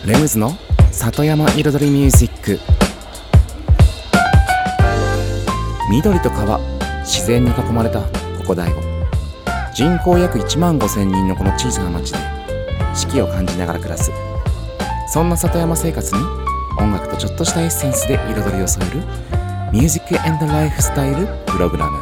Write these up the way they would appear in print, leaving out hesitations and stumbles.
レムズの里山彩りミュージック。緑と川、自然に囲まれたここ大悟。人口約1万5千人のこの小さな町で四季を感じながら暮らす、そんな里山生活に音楽とちょっとしたエッセンスで彩りを添えるミュージック&ライフスタイルプログラム。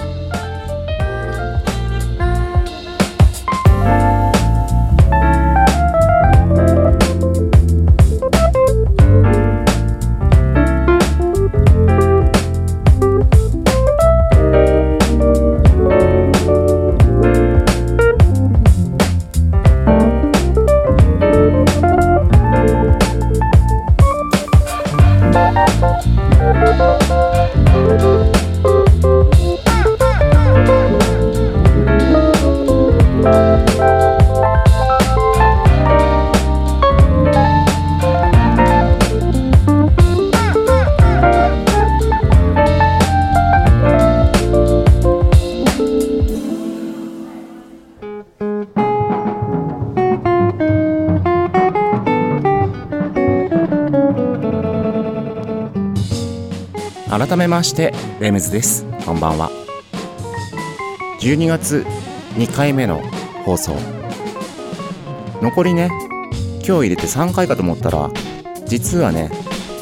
改めましてレムズです。こんばんは。12月2回目の放送、残りね今日入れて3回かと思ったら、実はね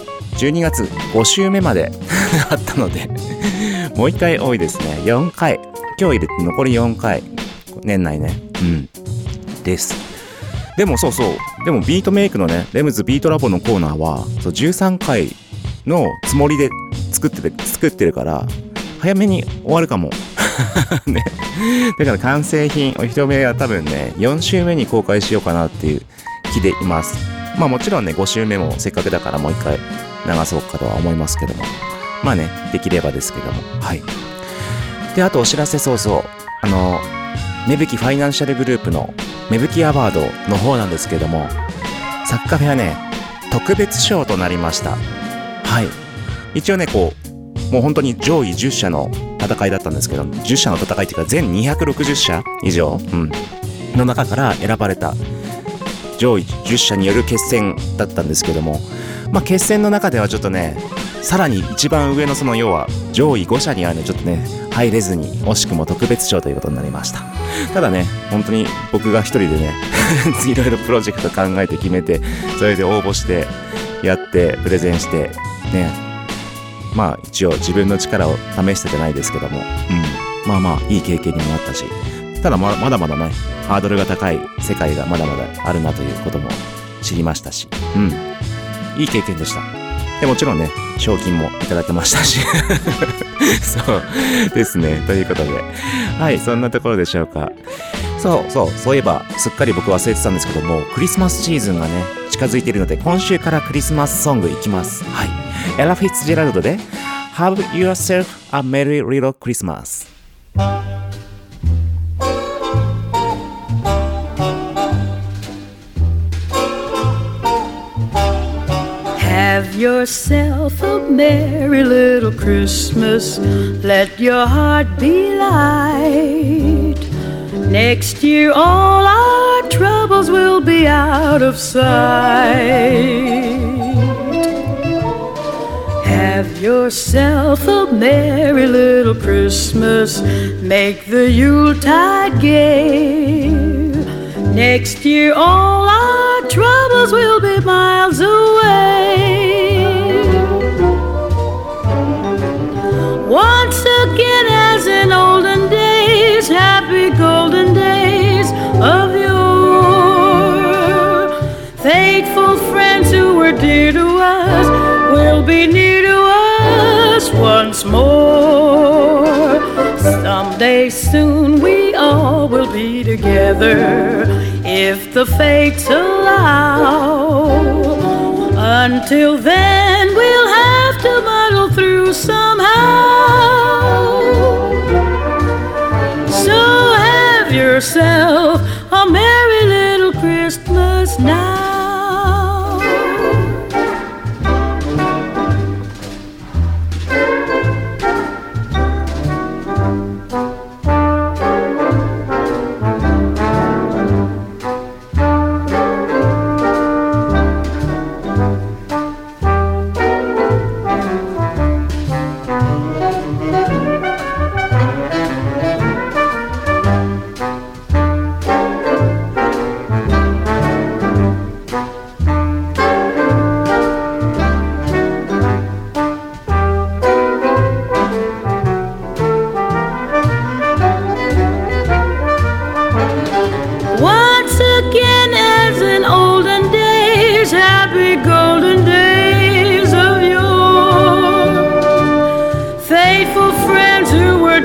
12月5週目まであったのでもう1回多いですね。4回、今日入れて残り4回、年内ねです。でもでもビートメイクのねレムズビートラボのコーナーは13回のつもりで作ってるから早めに終わるかもね。だから完成品お披露目は多分ね4週目に公開しようかなっていう気でいます。まあもちろんね5週目もせっかくだからもう一回流そうかとは思いますけども、まあねできればですけども、はい。であとお知らせ、芽吹ファイナンシャルグループの芽吹アワードの方なんですけども、サッカフェはね特別賞となりました。はい。一応ねもう本当に上位10社の戦いだったんですけど、10社の戦いっていうか全260社以上、の中から選ばれた上位10社による決戦だったんですけども、まあ決戦の中ではちょっとねさらに一番上のその要は上位5社にはねちょっとね入れずに惜しくも特別賞ということになりました。ただね本当に僕が一人でねいろいろプロジェクト考えて決めて、それで応募してやってプレゼンしてね、まあ一応自分の力を試してじゃないですけども、まあいい経験にもなったし、ただまだまだねハードルが高い世界がまだまだあるなということも知りましたし、いい経験でした。でもちろんね賞金もいただけましたしそうですね。ということで、はい、そんなところでしょうか。そういえばすっかり僕忘れてたんですけども、クリスマスシーズンがね近づいているので今週からクリスマスソングいきます。はい、エラ・フィッツジェラルドで Have yourself a merry little Christmas。 Have yourself a merry little Christmas. Let your heart be light. Next year all our troubles will be out of sight. Have yourself a merry little Christmas. Make the Yuletide gay. Next year all our troubles will be miles away. Once again as in olden days, happy golden days of yore, faithful friends who were dear to us will be near to us once more. Someday soon we all will be together if the fates allow. Until then we'll have to muddle through somehow. So have yourself a merry little Christmas now.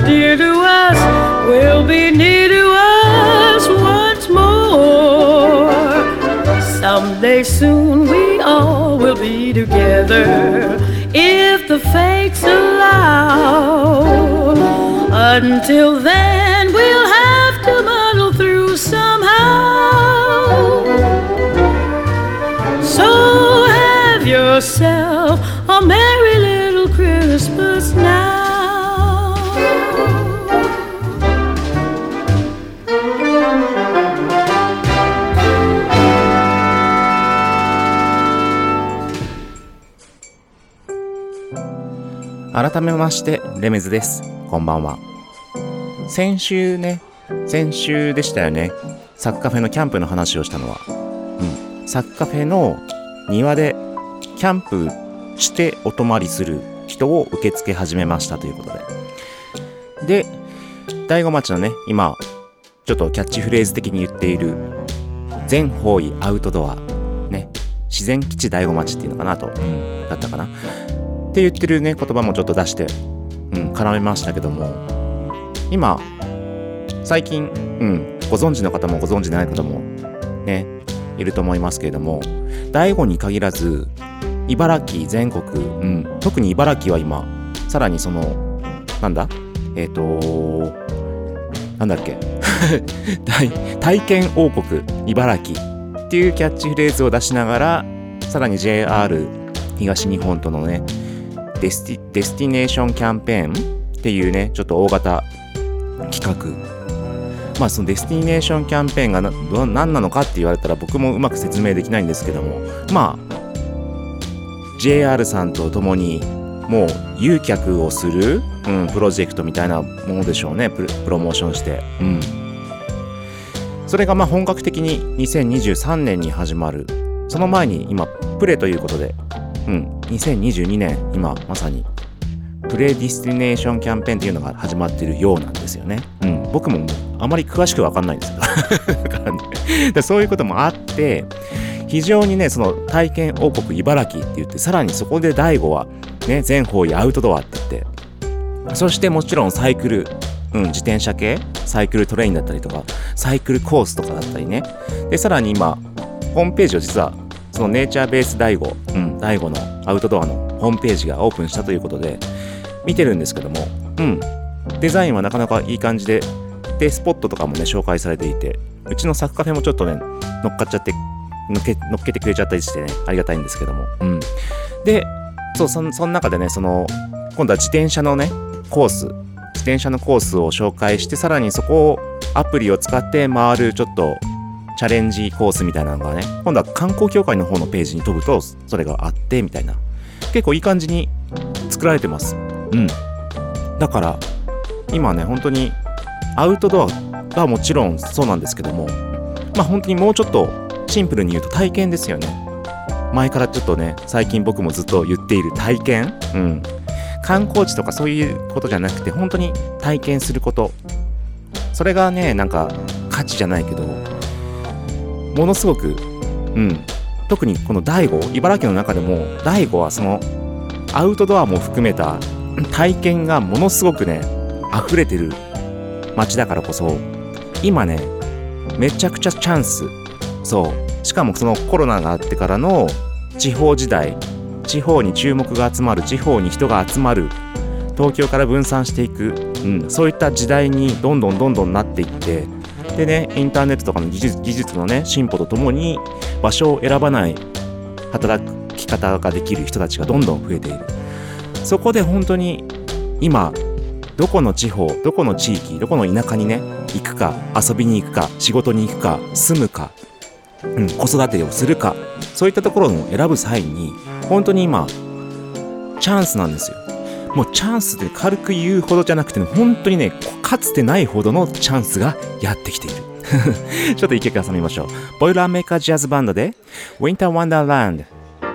dear to us will be near to us once more. Someday soon we all will be together if the fates allow. Until then we'll have to muddle through somehow. So have yourself a merry little Christmas now. 改めましてレメズです。こんばんは。先週でしたよね、サッカフェのキャンプの話をしたのは、サッカフェの庭でキャンプしてお泊まりする人を受け付け始めましたということで、大子町のね、今ちょっとキャッチフレーズ的に言っている全方位アウトドアね、自然基地大子町っていうのかなと、だったかなって言ってるね言葉もちょっと出して、絡めましたけども、今最近、ご存知の方もご存知ない方もねいると思いますけれども、大子に限らず茨城全国、特に茨城は今さらにそのなんだっけ体験王国茨城っていうキャッチフレーズを出しながら、さらに JR 東日本とのねデスティネーションキャンペーンっていうねちょっと大型企画、そのデスティネーションキャンペーンが何なのかって言われたら僕もうまく説明できないんですけども、JR さんと共にもう誘客をする、プロジェクトみたいなものでしょうね。プロモーションして、それが本格的に2023年に始まる。その前に今プレということで、2022年今まさにプレディスティネーションキャンペーンっていうのが始まっているようなんですよね。僕もあまり詳しく分かんないんですけどだからね、そういうこともあって非常にね、その体験王国茨城って言って、さらにそこで大子はね全方位アウトドアって言って、そしてもちろんサイクル、自転車系サイクルトレインだったりとかサイクルコースとかだったりね、でさらに今ホームページを実はそのネイチャーベース大子、大子のアウトドアのホームページがオープンしたということで見てるんですけども、デザインはなかなかいい感じで、スポットとかもね紹介されていて、うちのサッカフェもちょっとね乗っかっちゃって乗っけてくれちゃったりしてね、ありがたいんですけども、でその中でね、その今度は自転車のコースを紹介して、さらにそこをアプリを使って回るちょっとチャレンジコースみたいなのがね、今度は観光協会の方のページに飛ぶとそれがあってみたいな、結構いい感じに作られてます。だから今ね本当にアウトドアがもちろんそうなんですけども、本当にもうちょっとシンプルに言うと体験ですよね。前からちょっとね最近僕もずっと言っている体験、観光地とかそういうことじゃなくて本当に体験すること、それがねなんか価値じゃないけどものすごく、特にこの大子、茨城の中でも大子はそのアウトドアも含めた体験がものすごくね溢れてる街だからこそ、今ねめちゃくちゃチャンス。しかもそのコロナがあってからの地方時代、地方に注目が集まる、地方に人が集まる、東京から分散していく、そういった時代にどんどんなっていって、でねインターネットとかの技術のね進歩とともに場所を選ばない働き方ができる人たちがどんどん増えている。そこで本当に今どこの地方、どこの地域、どこの田舎にね行くか、遊びに行くか、仕事に行くか、住むか、子育てをするか、そういったところを選ぶ際に本当に今チャンスなんですよ。もうチャンスって軽く言うほどじゃなくて、本当にねかつてないほどのチャンスがやってきているちょっと一曲挟みましょう。ボイラーメーカージャズバンドで Winter Wonderland。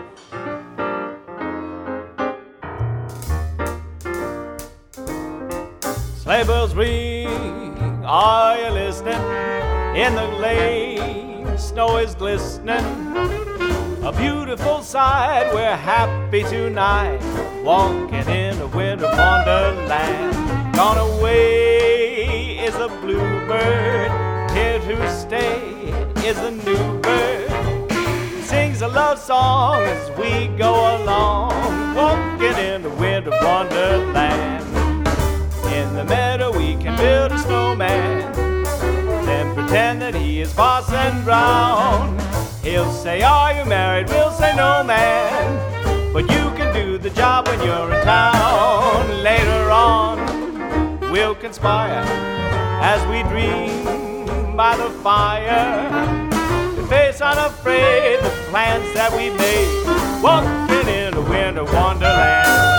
Sleigh bells ring, are you listening? In the lane, snow is glistening. A beautiful sight, we're happy tonight, walking in a winter wonderland. Gone away is a bluebird, here to stay is a new bird. Sings a love song as we go along, walking in a winter wonderland. In the meadow we can build a snowman, then pretend that he is Parson Brown. He'll say, are you married? We'll say, no, man, but you can do the job when you're in town. Later on, we'll conspire as we dream by the fire, to face unafraid the plans that we made, walking in a winter wonderland.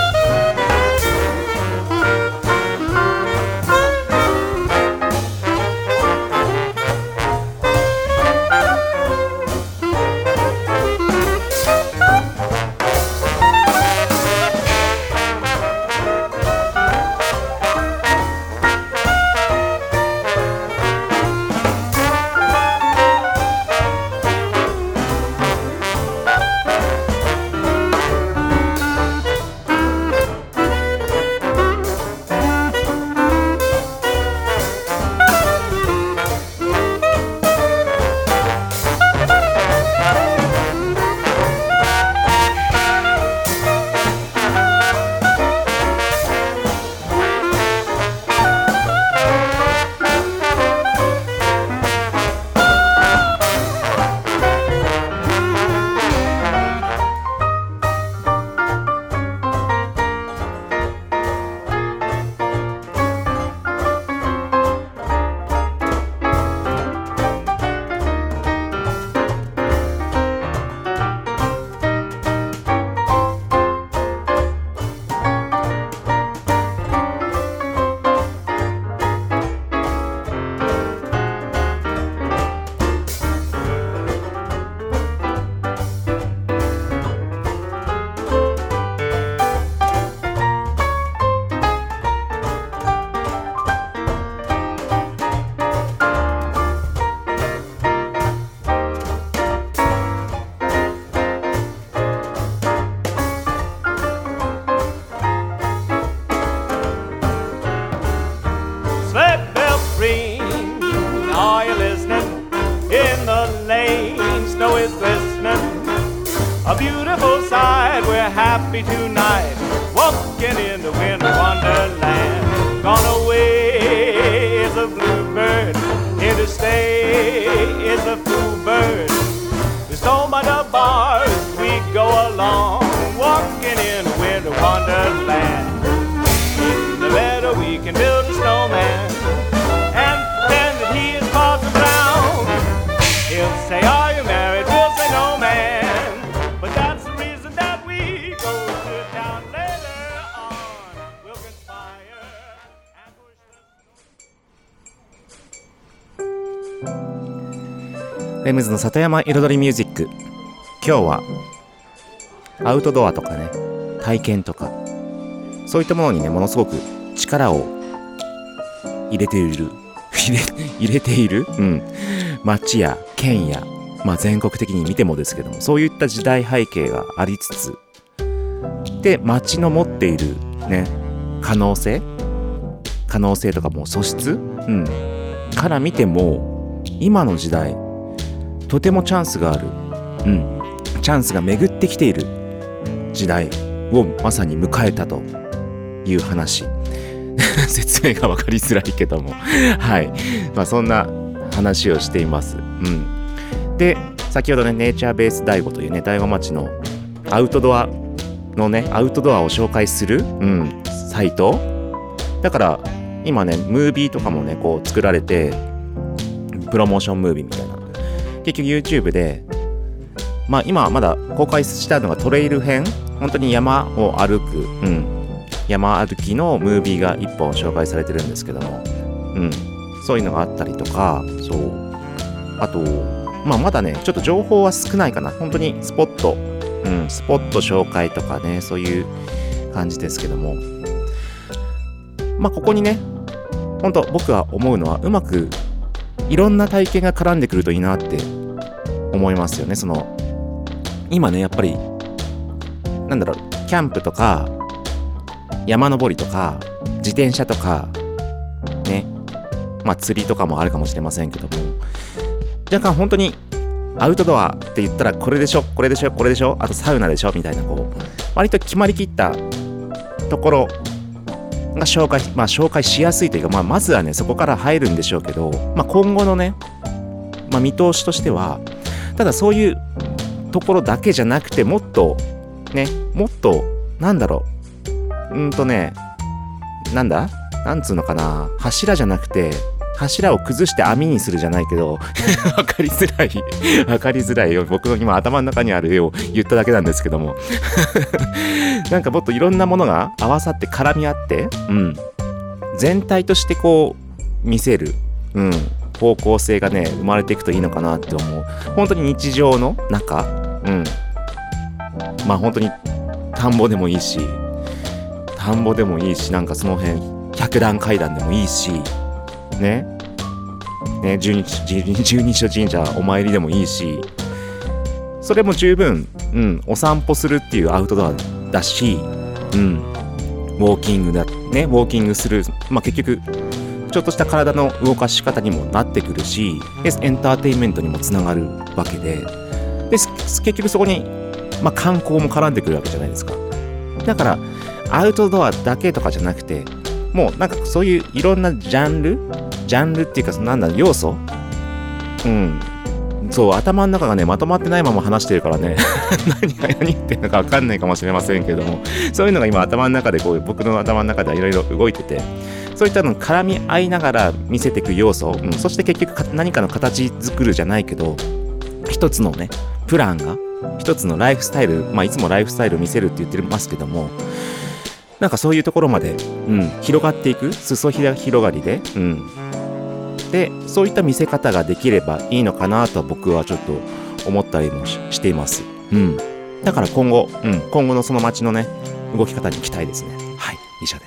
Happy tonight, walking in the winter wonderland. Gone away is a bluebird, here to stay is a fool bird. We stole by the bars as we go along, walking in the winter wonderland. In the meadow we can build a snowman, and pretend that he is Parson Brown. He'll say, are you married? We'll say, no, man, but that's the reason that we go to town. Later on we'll conspire and push the... レムズの里山彩りミュージック。今日はアウトドアとかね、体験とかそういったものにね、ものすごく力を入れている町や県や、全国的に見てもですけども、そういった時代背景がありつつで、町の持っているね、可能性とかも素質、から見ても今の時代とてもチャンスがある、チャンスが巡ってきている時代をまさに迎えたという話説明が分かりづらいけどもはい、そんな話をしています。で、先ほどね、ネイチャーベース大悟というね、大子町のアウトドアのね、アウトドアを紹介する、サイトだから、今ね、ムービーとかもね、こう作られて、プロモーションムービーみたいな、結局 YouTube で、今まだ公開したのがトレイル編、本当に山を歩く、山歩きのムービーが1本紹介されてるんですけども、そういうのがあったりとか、あと、まだね、ちょっと情報は少ないかな。本当にスポット紹介とかね、そういう感じですけども、ここにね、本当僕は思うのは、うまくいろんな体験が絡んでくるといいなって思いますよね。その今ねやっぱりなんだろう、キャンプとか山登りとか自転車とかね、まあ釣りとかもあるかもしれませんけども、若干本当にアウトドアって言ったらこれでしょ、これでしょ、これでしょ、あとサウナでしょみたいな、こう割と決まりきったところが紹介しやすいというか、まずはねそこから入るんでしょうけど、今後のね、見通しとしては、ただそういうところだけじゃなくて、もっとなんだろう、なんつうのかな、柱じゃなくて柱を崩して網にするじゃないけどわかりづらいよ、僕の今頭の中にある絵を言っただけなんですけどもなんかもっといろんなものが合わさって絡み合って、全体としてこう見せる、方向性がね生まれていくといいのかなって思う。本当に日常の中、本当に田んぼでもいいし、なんかその辺百段階段でもいいしね、十二所神社お参りでもいいし、それも十分、お散歩するっていうアウトドアだし、ウォーキングする、結局ちょっとした体の動かし方にもなってくるし、エンターテインメントにもつながるわけで、結局そこに、観光も絡んでくるわけじゃないですか。だからアウトドアだけとかじゃなくて、もうなんかそういういろんなジャンルっていうか、要素、そう頭の中がねまとまってないまま話してるからね何言ってるのか分かんないかもしれませんけども、そういうのが今頭の中で僕の頭の中ではいろいろ動いてて、そういったの絡み合いながら見せていく要素、そして結局何かの形作るじゃないけど、一つのねプランが、一つのライフスタイル、いつもライフスタイルを見せるって言ってますけども、なんかそういうところまで、広がっていく、裾広がりで、でそういった見せ方ができればいいのかなと僕はちょっと思ったりもしています。だから今後のその街のね動き方に期待ですね。はい、以上です。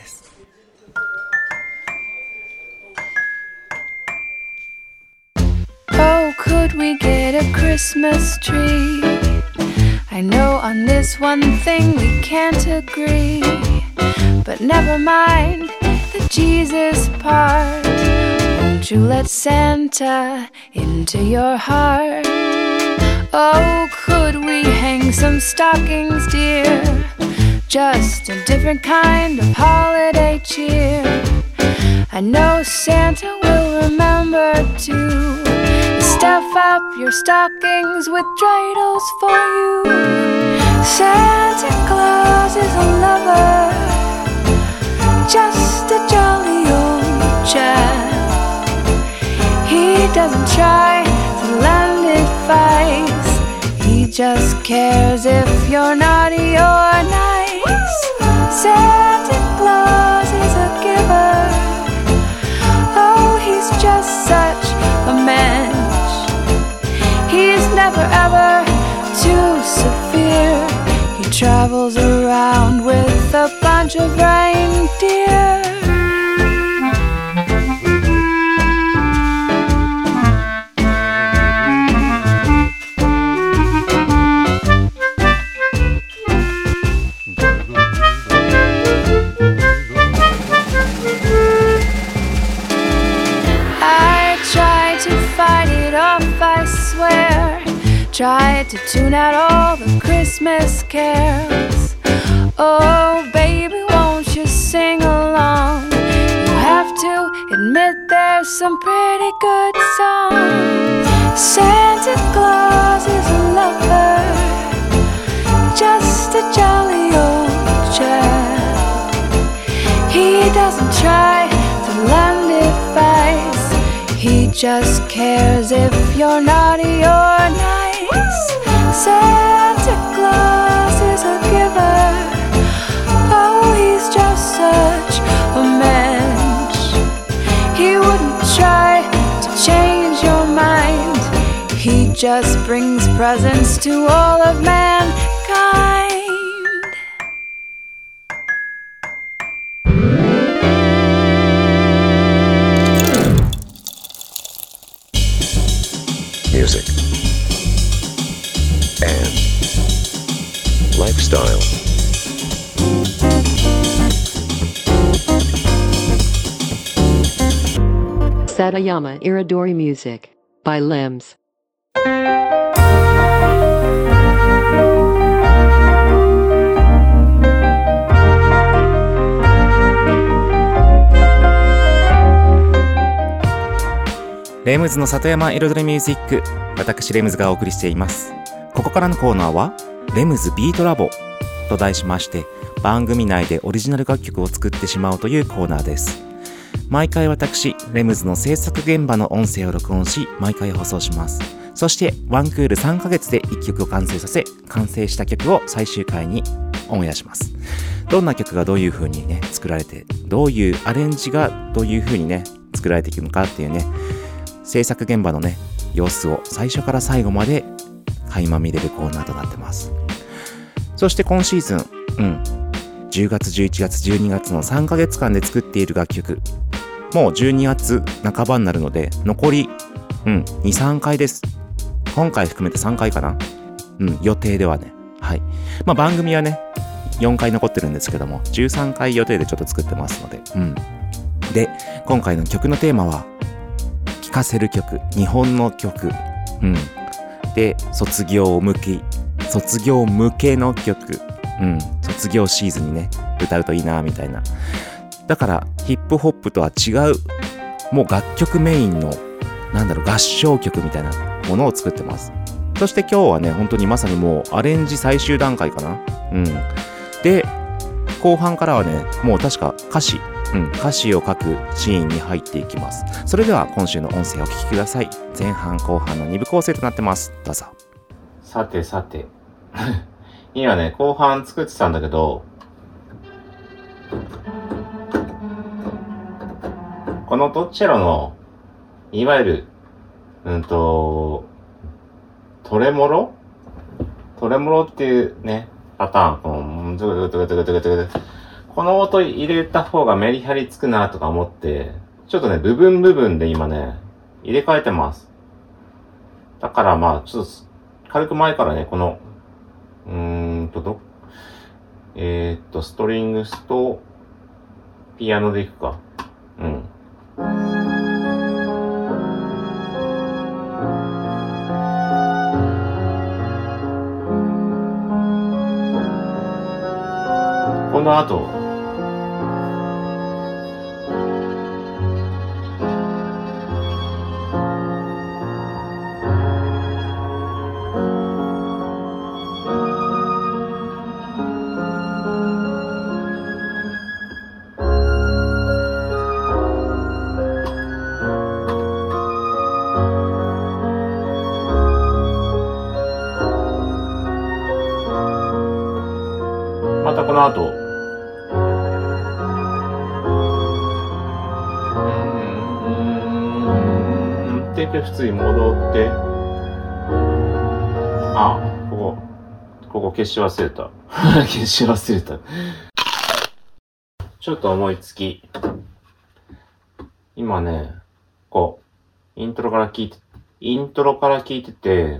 Oh, could we get a Christmas tree? I know on this one thing we can't agree, but never mind the Jesus part. Won't you let Santa into your heart? Oh, could we hang some stockings, dear? Just a different kind of holiday cheer. I know Santa will remember to stuff up your stockings with dreidels for you. Santa Claus is a lover, just a jolly old chap. He doesn't try to lend advice, he just cares if you're naughty or nice. Santa Claus is a giver, oh, he's just such a mensch. He's never ever too severe, he travels around with a bunch of reindeer. Tried to tune out all the Christmas carols. Oh, baby, won't you sing along? You have to admit there's some pretty good songs. Santa Claus is a lover, just a jolly old chap. He doesn't try to lend advice, he just cares if you're naughty or nice. Santa Claus is a giver, oh, he's just such a mensch. He wouldn't try to change your mind, he just brings presents to all of mankind. Music and Lifestyle. Satayama Iridori Music by Limbs. レムズの里山彩りミュージック、私レムズがお送りしています。ここからのコーナーはレムズビートラボと題しまして、番組内でオリジナル楽曲を作ってしまおうというコーナーです。毎回私レムズの制作現場の音声を録音し、毎回放送します。そしてワンクール3ヶ月で1曲を完成させ、完成した曲を最終回にオンエアします。どんな曲がどういう風にね作られて、どういうアレンジがどういう風にね作られていくのかっていうね、制作現場のね様子を最初から最後まで垣間見れるコーナーとなってます。そして今シーズン、10月11月12月の3ヶ月間で作っている楽曲、もう12月半ばになるので残り、2、3回です。今回含めて3回かな。予定ではね。はい。番組はね4回残ってるんですけども、13回予定でちょっと作ってますので、で、今回の曲のテーマは聴かせる曲、日本の曲、で、卒業向けの曲、卒業シーズンにね歌うといいなみたいな。だからヒップホップとは違う、もう楽曲メインの合唱曲みたいなものを作ってます。そして今日はね本当にまさにもうアレンジ最終段階かな。で後半からはねもう確か歌詞を書くシーンに入っていきます。それでは今週の音声をお聞きください。前半後半の2部構成となってます。どうぞ。さて今ね後半作ってたんだけど、このドッチェロのいわゆるトレモロっていうねパターン、この音入れた方がメリハリつくなとか思って、ちょっとね部分で今ね入れ替えてます。だからちょっと軽く前からねこのストリングスとピアノでいくか。この後普通に戻って、ここ消し忘れたちょっと思いつき、今ねイントロから聞いてて、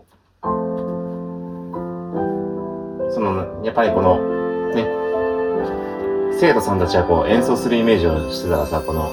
やっぱりこのね生徒さんたちは演奏するイメージをしてたらさ、この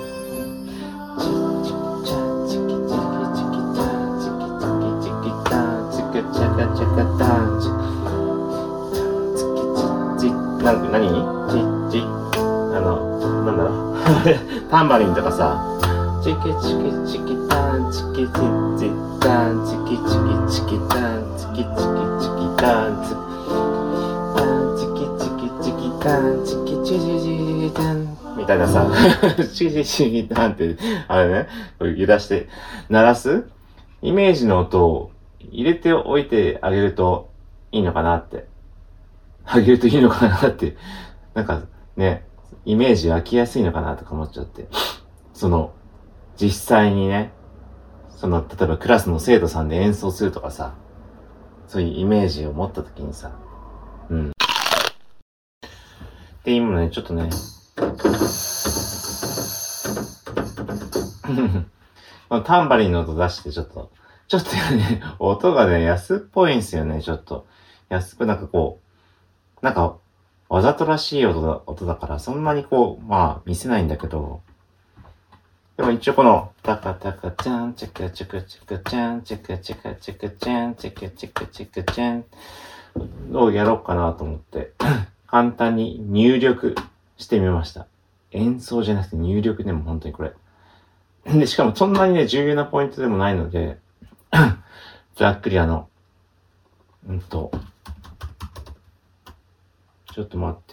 タンバリンとかさ、チキチキチキタンチキチチタンチキチキチキタンチキチキチキタンチキチキチキタンチキチチチタンみたいなさ、チキチキタンってあれね、揺らして鳴らすイメージの音を入れておいてあげるといいのかなって、なんかねイメージ湧きやすいのかなとか思っちゃって、実際にね例えばクラスの生徒さんで演奏するとかさ、そういうイメージを持った時にさ、で今ねちょっとねタンバリンの音出してちょっとね音がね安っぽいんすよね。ちょっと安くなんかこう、なんかわざとらしい音だからそんなにこう、まあ見せないんだけど、でも一応このタカタカチャンチャカチャカチャカチャンチャカチャカチャカチャンチャカチャカチャカチャンをやろうかなと思って簡単に入力してみました。演奏じゃなくて入力でも本当にこれ。で、しかもそんなにね、重要なポイントでもないので、ざっくりちょっと待って。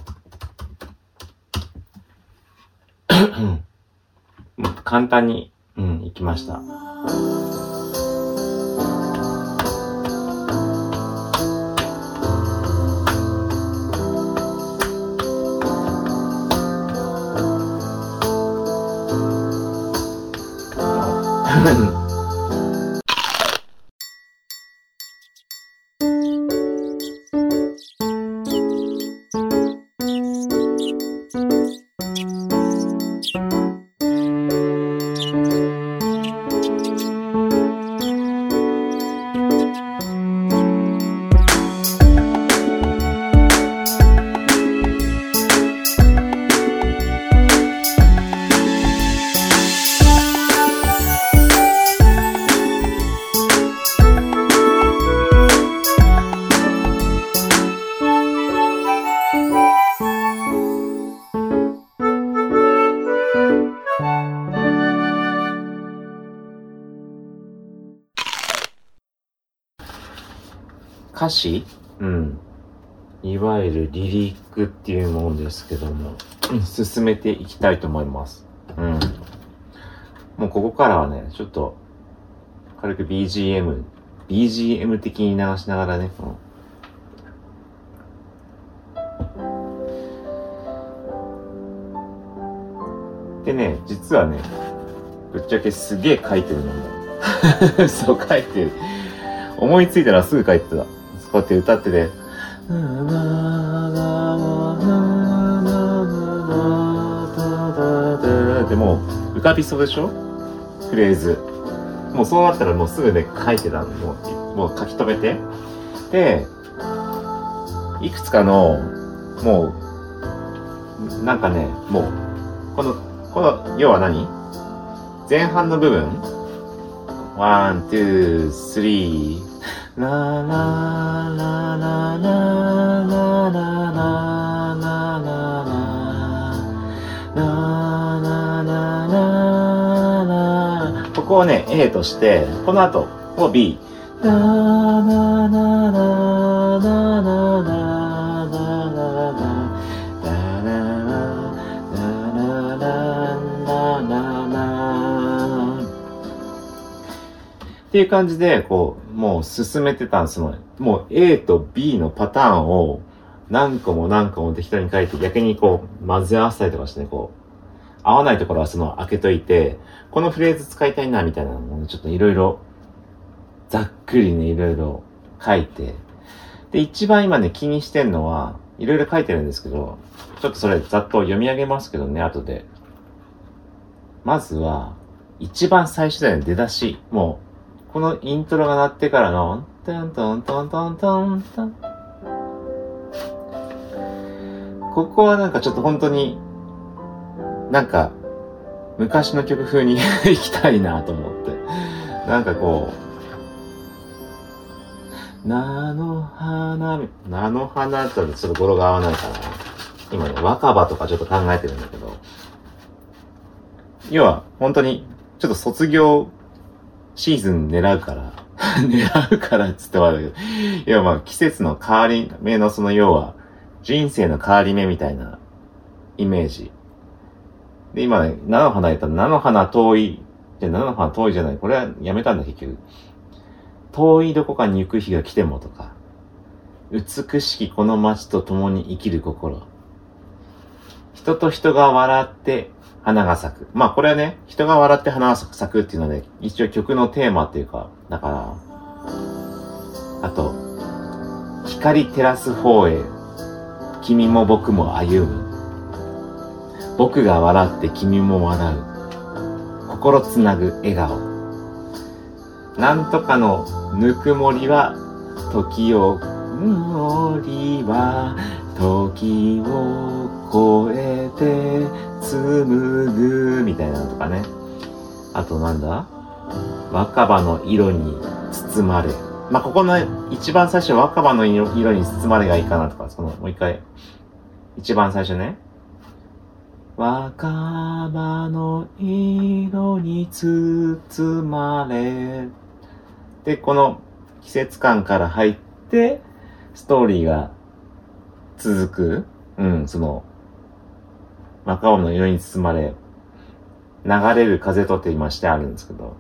もう簡単に、いきました。歌詞？いわゆるリリックっていうものですけども、進めていきたいと思います。もうここからはね、ちょっと軽く BGM 的に流しながらね、でね、実はね、ぶっちゃけすげえ書いてるのもそう書いてる。思いついたらすぐ書いてた。こうやって歌ってて、でも浮かびそうでしょ？フレーズ。もうそうなったらもうすぐね書いてたの。もう書き留めて。で、いくつかのもうなんかね、もうこの要は何？前半の部分、1、2、3、ラララララララララ、ここをね A として、この後を B、ラララララララっていう感じで、こう、もう進めてたんです。もう A と B のパターンを何個も適当に書いて、逆にこう、混ぜ合わせたりとかしてね、こう、合わないところは開けといて、このフレーズ使いたいな、みたいなのをね、ちょっといろいろ、ざっくりね、いろいろ書いて、で、一番今ね、気にしてんのは、いろいろ書いてるんですけど、ちょっとそれざっと読み上げますけどね、後で。まずは、一番最初だよね、出だし。もう、このイントロが鳴ってからの、トントントントントントン。ここはなんかちょっと本当に、なんか、昔の曲風に行きたいなと思って。なんかこう、菜の花ってちょっと語呂が合わないから、今ね、若葉とかちょっと考えてるんだけど、要は本当に、ちょっと卒業シーズン狙うからっつってはだけど、要はまあ季節の変わり目の要は人生の変わり目みたいなイメージ。で、今ね、菜の花やったら菜の花遠いじゃない。これはやめたんだ結局。遠いどこかに行く日が来てもとか、美しきこの街と共に生きる心。人と人が笑って花が咲く。まあこれはね、人が笑って花が咲くっていうので、一応曲のテーマっていうか、だから、あと、光照らす方へ、君も僕も歩む。僕が笑って君も笑う。心つなぐ笑顔。なんとかのぬくもりは時をりは時を越えて紡ぐみたいなのとかね。あとなんだ、若葉の色に包まれ。まあ、ここの一番最初若葉の色に包まれがいいかなとか、そのもう一回一番最初ね、若葉の色に包まれで、この季節感から入ってストーリーが続く。その若葉の色に包まれ、流れる風とって今してあるんですけど、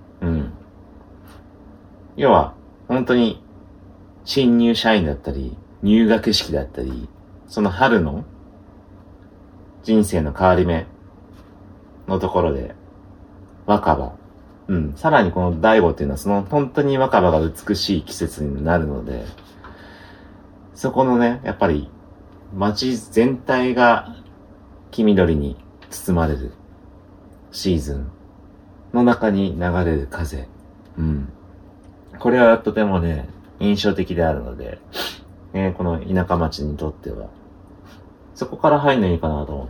要は本当に新入社員だったり入学式だったり、その春の人生の変わり目のところで若葉、さらにこの醍醐っていうのはその本当に若葉が美しい季節になるので、そこのね、やっぱり街全体が黄緑に包まれるシーズンの中に流れる風、これはとてもね印象的であるので、この田舎町にとってはそこから入るのいいかなと思って。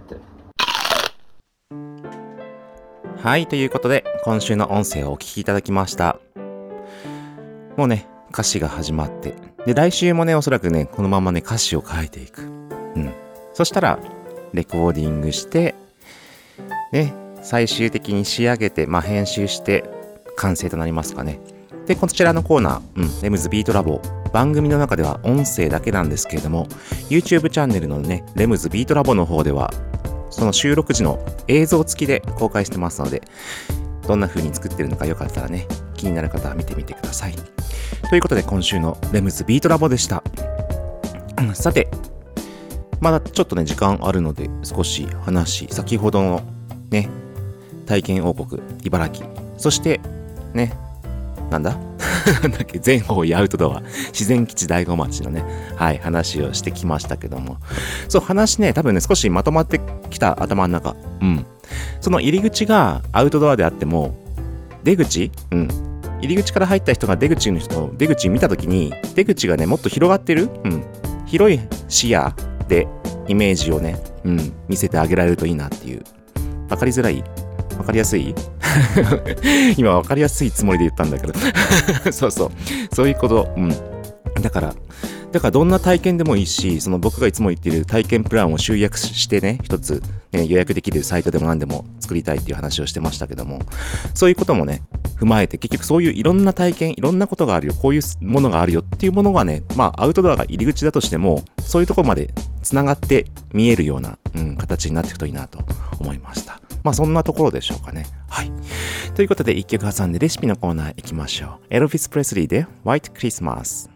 はい、ということで今週の音声をお聞きいただきました。もうね歌詞が始まって、で来週もねおそらくねこのままね歌詞を書いていく。そしたらレコーディングしてね、最終的に仕上げて、編集して完成となりますかね。でこちらのコーナー、レムズビートラボ、番組の中では音声だけなんですけれども、 YouTube チャンネルのねレムズビートラボの方ではその収録時の映像付きで公開してますので、どんな風に作ってるのかよかったらね気になる方は見てみてください。ということで今週のレムズビートラボでした。さてまだちょっとね時間あるので少し先ほどのね体験王国茨城、そしてねなんだ全方位アウトドア自然基地大子町のね話をしてきましたけども、そう話ね多分ね少しまとまってきた頭の中。その入り口がアウトドアであっても出口、入り口から入った人が出口見たときに出口がねもっと広がってる、広い視野でイメージをね、見せてあげられるといいなっていう。わかりづらい？わかりやすい？今わかりやすいつもりで言ったんだけどそういうこと。だからどんな体験でもいいし、その僕がいつも言っている体験プランを集約してね一つ、予約できるサイトでも何でも作りたいっていう話をしてましたけども、そういうこともね踏まえて、結局そういういろんな体験、いろんなことがあるよ、こういうものがあるよっていうものがね、アウトドアが入り口だとしてもそういうところまでつながって見えるような、形になっていくといいなと思いました。そんなところでしょうかね。はい。ということで一曲挟んでレシピのコーナー行きましょう。エルヴィス・プレスリーで White Christmas。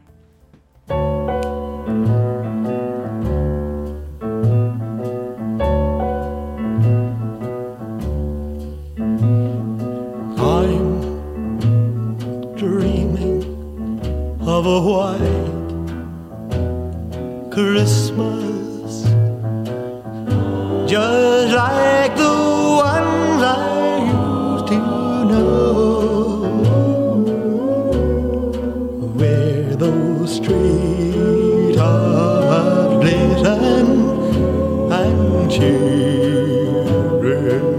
Of a white Christmas, just like the ones I used to know, where those streets are glisten and children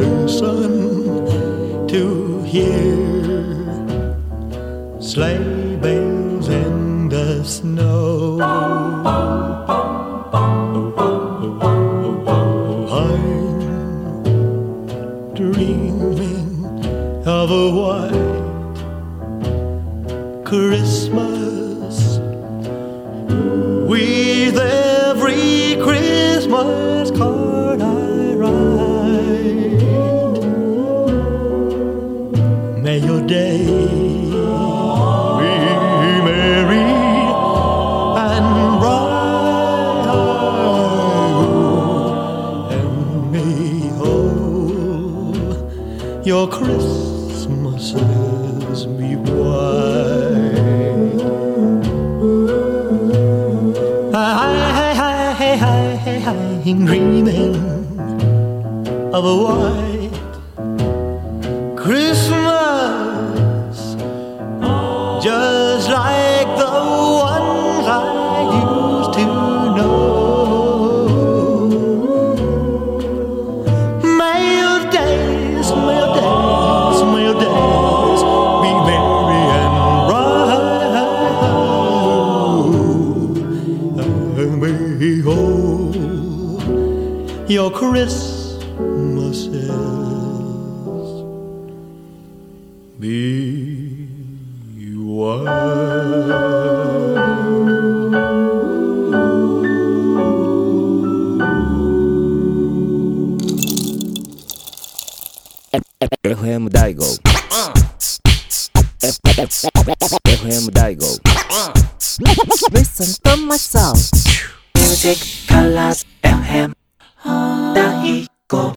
listen to hear sleigh bells in the snow. I'm dreaming of a white Christmas, with every Christmas card I write. May your day your Christmases be white. I'm dreaming of a white Christmas, just like the ones I Christmases be white. FM 大号 FM 大号 Listen to my song Music Colors FM 大号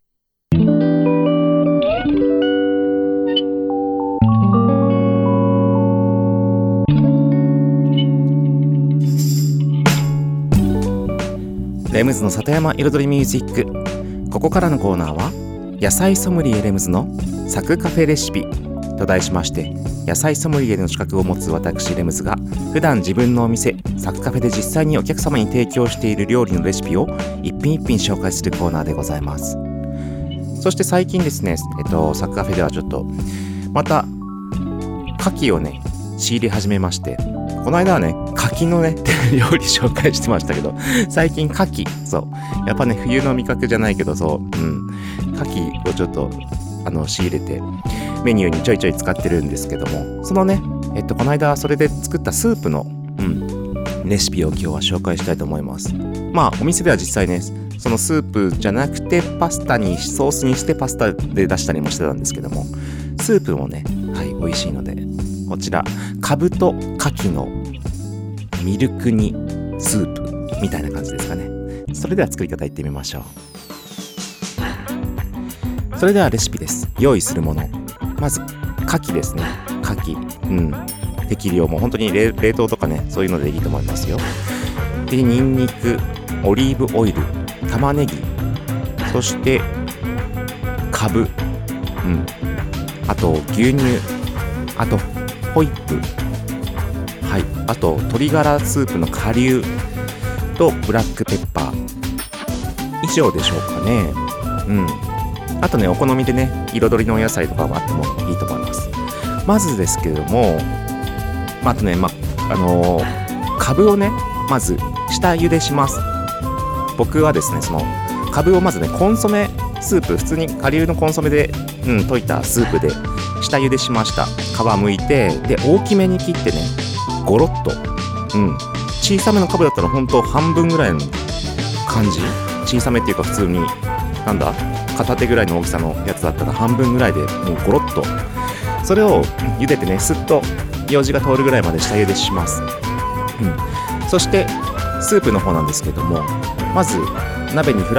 レムズの里山彩りミュージック。ここからのコーナーは野菜ソムリエレムズのサクカフェレシピと題しまして、野菜ソムリエの資格を持つ私レムズが普段自分のお店サクカフェで実際にお客様に提供している料理のレシピを一品一品紹介するコーナーでございます。そして最近ですね、サクカフェではちょっとまた牡蠣をね仕入れ始めまして、この間はね牡蠣のね料理紹介してましたけど、最近牡蠣、そうやっぱね冬の味覚じゃないけど、そう牡蠣をちょっと仕入れてメニューにちょいちょい使ってるんですけども、そのねこの間それで作ったスープのレシピを今日は紹介したいと思います。まあお店では実際ねそのスープじゃなくてパスタにソースにしてパスタで出したりもしてたんですけども、スープもねはい美味しいので、こちらカブと牡蠣のミルク煮スープみたいな感じですかね。それでは作り方いってみましょう。それではレシピです。用意するもの、まず牡蠣ですね。牡蠣適量、もう本当に冷凍とかねそういうのでいいと思いますよ。でニンニク、オリーブオイル、玉ねぎ、そしてカブ、あと牛乳、あとホイップ、はい、あと鶏ガラスープの顆粒とブラックペッパー、以上でしょうかね。あとねお好みでね彩りのお野菜とかもあってもいいと思います。まずですけれども、あとねカブをねまず下茹でします。僕はですねそのカブをまずねコンソメスープ、普通に顆粒のコンソメで溶いたスープで下茹でしました。皮むいて、で大きめに切ってねゴロッと、小さめのカブだったら本当半分ぐらいの感じ、小さめっていうか普通になんだ片手ぐらいの大きさのやつだったら半分ぐらいでもうゴロッと、それを茹でてねすっとようじが通るぐらいまで下茹でします。そしてスープの方なんですけども、まず鍋に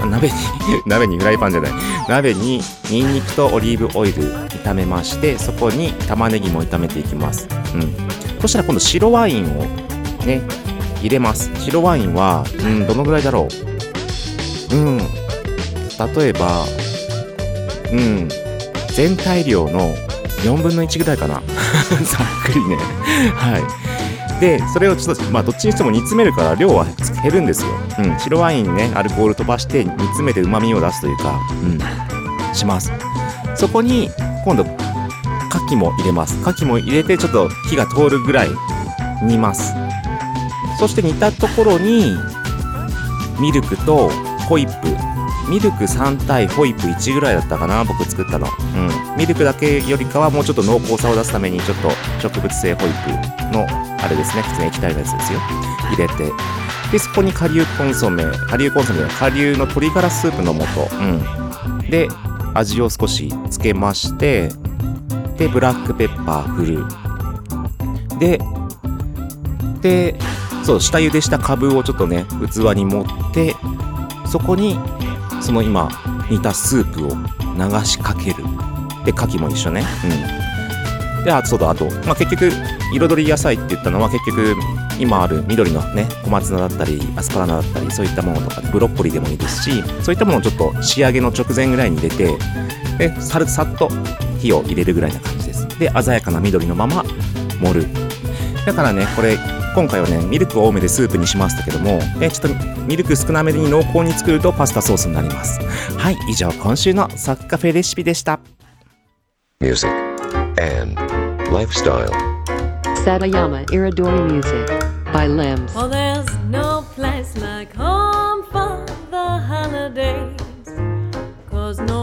ニンニクとオリーブオイル炒めまして、そこに玉ねぎも炒めていきます。そしたら今度白ワインをね入れます。白ワインはどのぐらいだろう、例えば全体量の4分の1ぐらいかなざっくりね。はい。でそれをちょっとどっちにしても煮詰めるから量は減るんですよ。白ワインねアルコール飛ばして煮詰めて旨味を出すというかします。そこに今度牡蠣も入れます。牡蠣も入れてちょっと火が通るぐらい煮ます。そして煮たところにミルクとホイップ、ミルク3対ホイップ1ぐらいだったかな、僕作ったの。ミルクだけよりかはもうちょっと濃厚さを出すためにちょっと植物性ホイップのあれですね、普通に液体のやつですよ、入れて、でそこに顆粒の鶏ガラスープの素、で味を少しつけまして、でブラックペッパー振る、でそう下茹でしたカブをちょっとね器に盛って、そこにその今煮たスープを流しかける。で牡蠣も一緒ね。であと結局彩り野菜って言ったのは結局今ある緑のね小松菜だったりアスパラナだったりそういったものとかブロッコリーでもいいですし、そういったものをちょっと仕上げの直前ぐらいに入れて、でさっと火を入れるぐらいな感じです。で鮮やかな緑のまま盛る。だからねこれ今回はねミルク多めでスープにしましたけども、ちょっとミルク少なめに濃厚に作るとパスタソースになります。はい、以上今週のサクカフェレシピでした。 Music and Lifestyle Satayama Iridori Music by Limbs. Oh, there's no place like home for the holiday.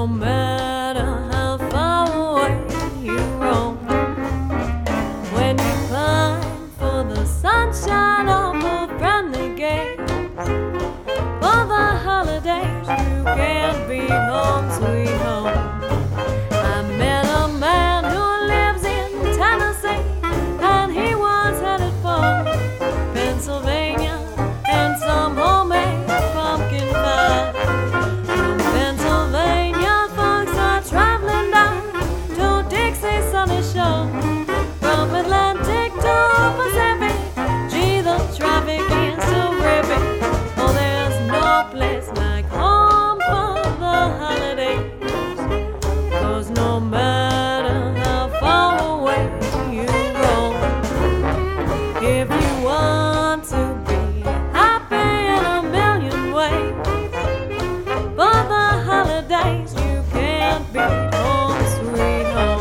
no matter how far away you roam, when you pine for the sunshine of a friendly gaze, for the holidays you can't beat home, sweet home. I met a man who lives in Tennessee, and he was headed for Pennsylvania and some homemade pumpkin pie. From Pennsylvania, folks are traveling down to Dixie Sunny Shore. From Atlantic to Pacific, gee, the traffic is so ripping. Oh, there's no place like home for the holidays, 'cause no matter how far away you roam, if you want to be happy in a million ways, for the holidays you can't beat home, sweet home.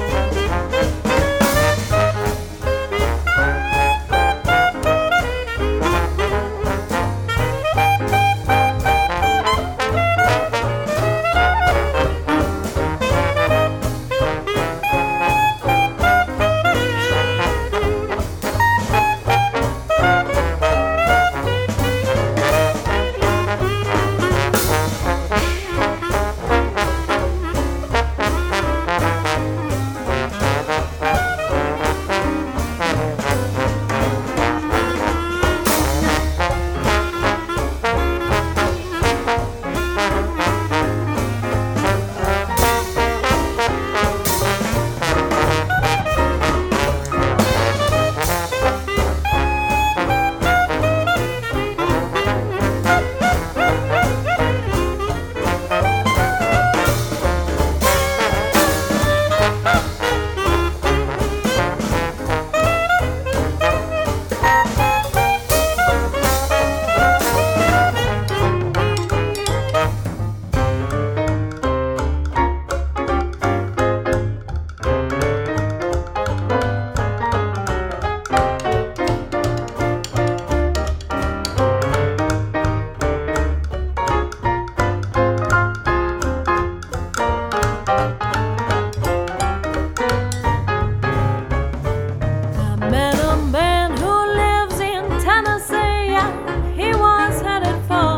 I met a man who lives in Tennessee, and he was headed for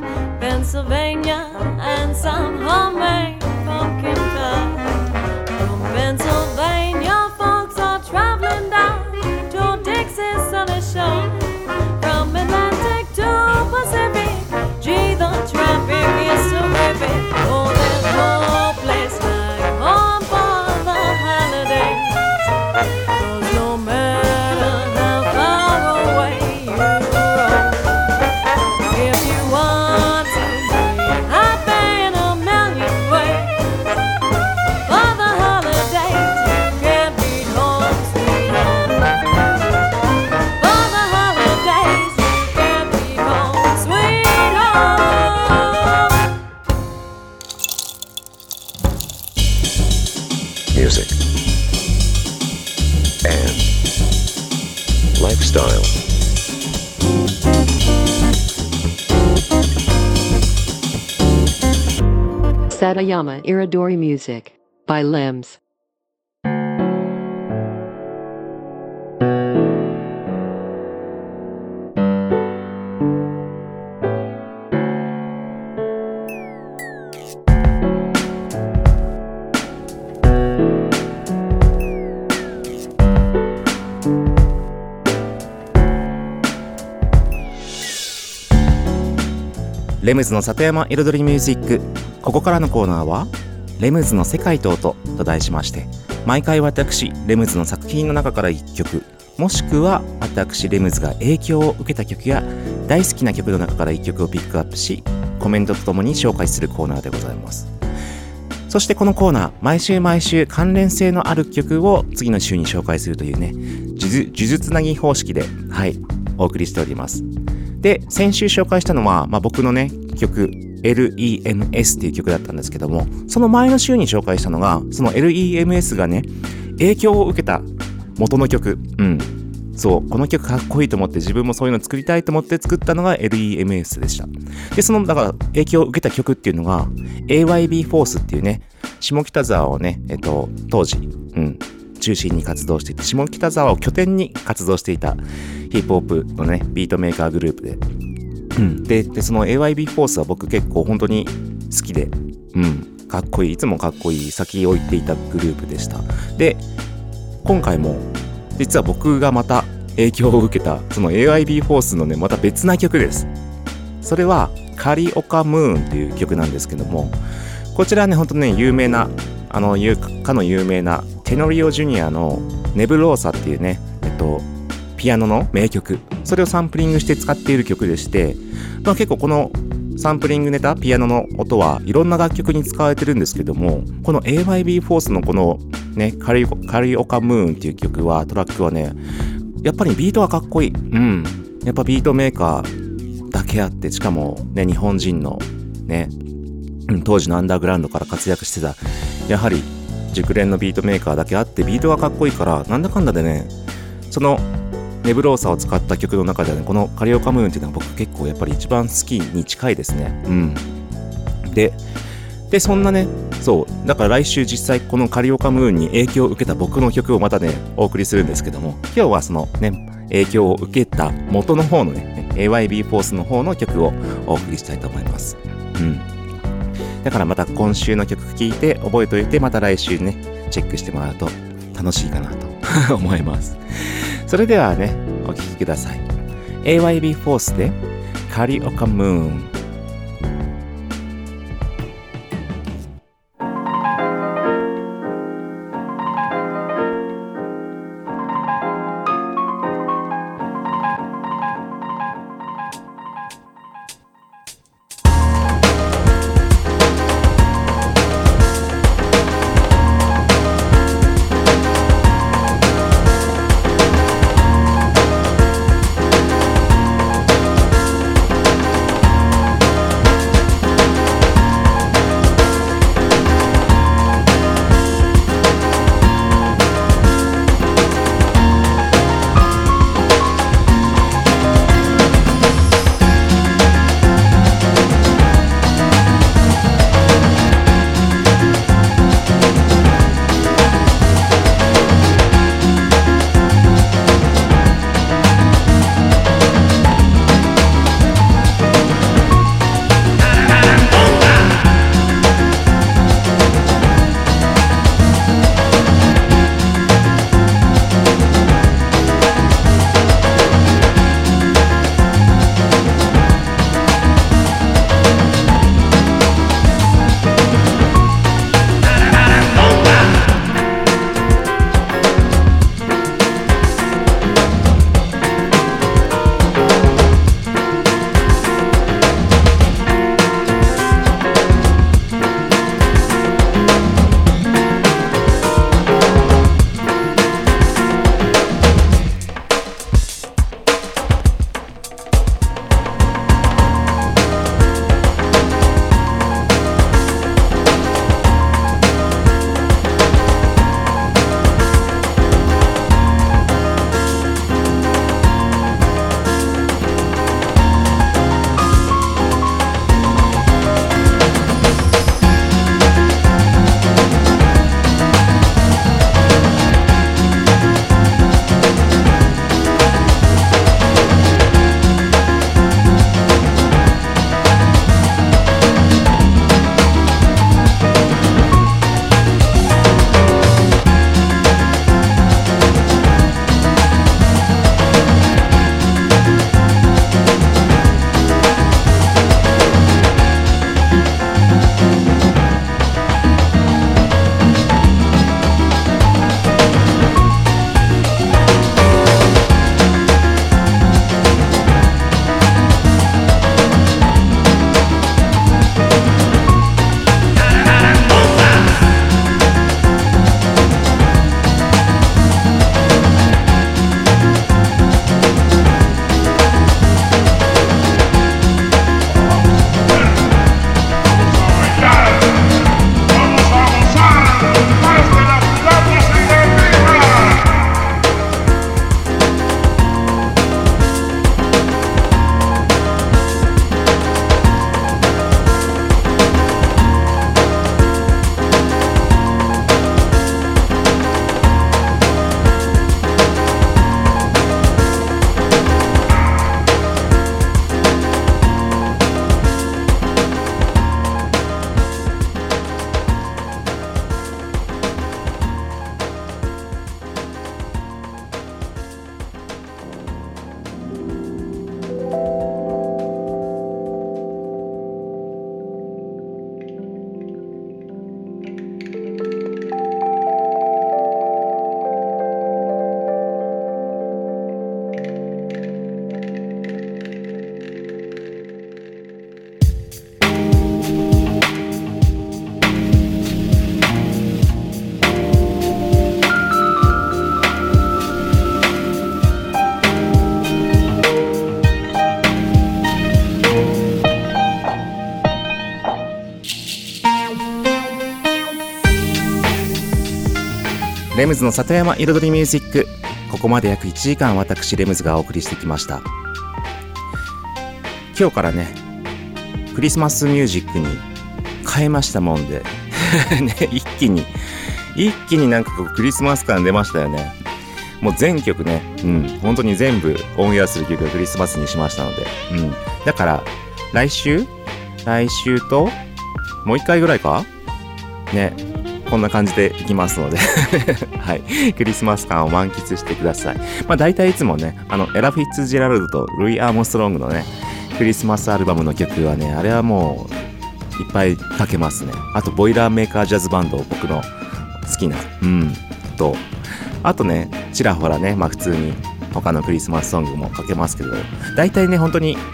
Pennsylvania and some homemade pumpkin pie. From Pennsylvania, folks are traveling down to Dixie Sunny Shore. From Atlantic to Pacific, gee, the traffic is so ripping. Oh, there's no place like home for the holidays, 'cause no matter how far away you roam, if you want to be happy in a million ways, for the holidays you can't beat home, sweet home. For the holidays you can't beat home, sweet home. Music and lifestyle. Satayama Iridori Music by Lems. レムズの里山彩りミュージック。ここからのコーナーはレムズの世界と音と題しまして、毎回私レムズの作品の中から1曲、もしくは私レムズが影響を受けた曲や大好きな曲の中から1曲をピックアップし、コメントとともに紹介するコーナーでございます。そしてこのコーナー、毎週関連性のある曲を次の週に紹介するというね、呪術つなぎ方式でお送りしております。で、先週紹介したのは、僕のね曲 LEMS っていう曲だったんですけども、その前の週に紹介したのが、その LEMS がね影響を受けた元の曲、そう、この曲かっこいいと思って、自分もそういうの作りたいと思って作ったのが LEMS でした。で、そのだから影響を受けた曲っていうのが AYB フォースっていうね、 下北沢をね、当時、中心に活動していて、下北沢を拠点に活動していたヒップホップのね、ビートメーカーグループで、で、その AYB フォースは僕結構本当に好きで、かっこいい、いつもかっこいい、先を行っていたグループでした。で、今回も、実は僕がまた影響を受けた、その AYB フォースのね、また別な曲です。それは、カリオカムーンっていう曲なんですけども、こちらはね、ほんとね、有名な、かの有名な、テノリオ・ジュニアのネブローサっていうね、ピアノの名曲、それをサンプリングして使っている曲でして、結構このサンプリングネタ、ピアノの音はいろんな楽曲に使われてるんですけども、この AYB フォースのこのね、カリオカムーンっていう曲は、トラックはね、やっぱりビートがかっこいい。やっぱビートメーカーだけあって、しかもね、日本人のね、当時のアンダーグラウンドから活躍してた、やはり熟練のビートメーカーだけあって、ビートがかっこいいから、なんだかんだでね、そのネブローサを使った曲の中ではね、このカリオカムーンっていうのは僕結構やっぱり一番好きに近いですね。で、そんなね、そう、だから来週実際このカリオカムーンに影響を受けた僕の曲をまたね、お送りするんですけども、今日はそのね、影響を受けた元の方のね、AYB フォースの方の曲をお送りしたいと思います。だからまた今週の曲聴いて覚えておいて、また来週ね、チェックしてもらうと楽しいかなと思います。それではね、お聴きください。AYB フォースでカリオカムーン。 レムズの里山彩りミュージック、ここまで約1時間私レムズがお送りしてきました。今日からねクリスマスミュージックに変えましたもんでね、一気になんかこうクリスマス感出ましたよね。もう全曲ね、本当に全部オンエアする曲がクリスマスにしましたので、だから来週ともう一回ぐらいかね、こんな感じでいきますのではい、クリスマス感を満喫してください。大体いつもね、エラ・フィッツジェラルドとルイ・アームストロングのねクリスマスアルバムの曲はね、あれはもういっぱいかけますね。あとボイラーメーカージャズバンド、僕の好きなと、あとねちらほらね、普通に他のクリスマスソングもかけますけど、大体ね本当に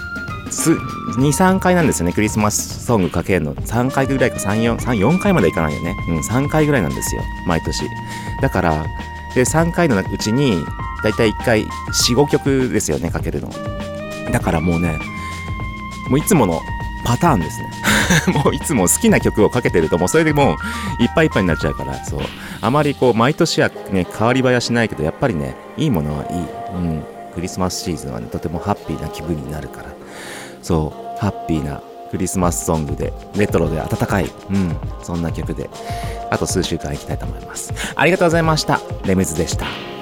2、3回なんですよね、クリスマスソングかけるの。3回ぐらいか、4回までいかないよね。3回ぐらいなんですよ、毎年。だから、で、3回のうちに、だいたい1回、4、5曲ですよね、かけるの。だからもうね、もういつものパターンですね。もういつも好きな曲をかけてると、もうそれでもう、いっぱいいっぱいになっちゃうから、そう。あまりこう、毎年はね、変わり映えはしないけど、やっぱりね、いいものはいい。クリスマスシーズンはね、とてもハッピーな気分になるから。そう、ハッピーなクリスマスソングで、レトロで温かい、そんな曲で、あと数週間いきたいと思います。ありがとうございました。レムズでした。